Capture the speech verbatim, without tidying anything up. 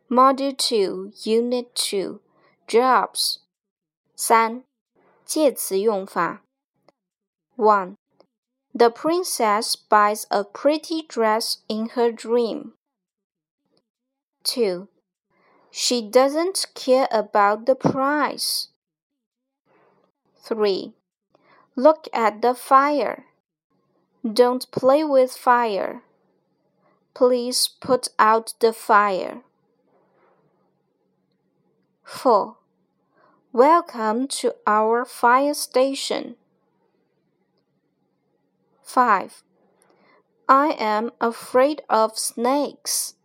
Module two, Unit two, Jobs. 三、介词用法。one. The princess buys a pretty dress in her dream. two. She doesn't care about the price. three. Look at the fire. Don't play with fire. Please put out the fire. four. Welcome to our fire station. five. I am afraid of snakes.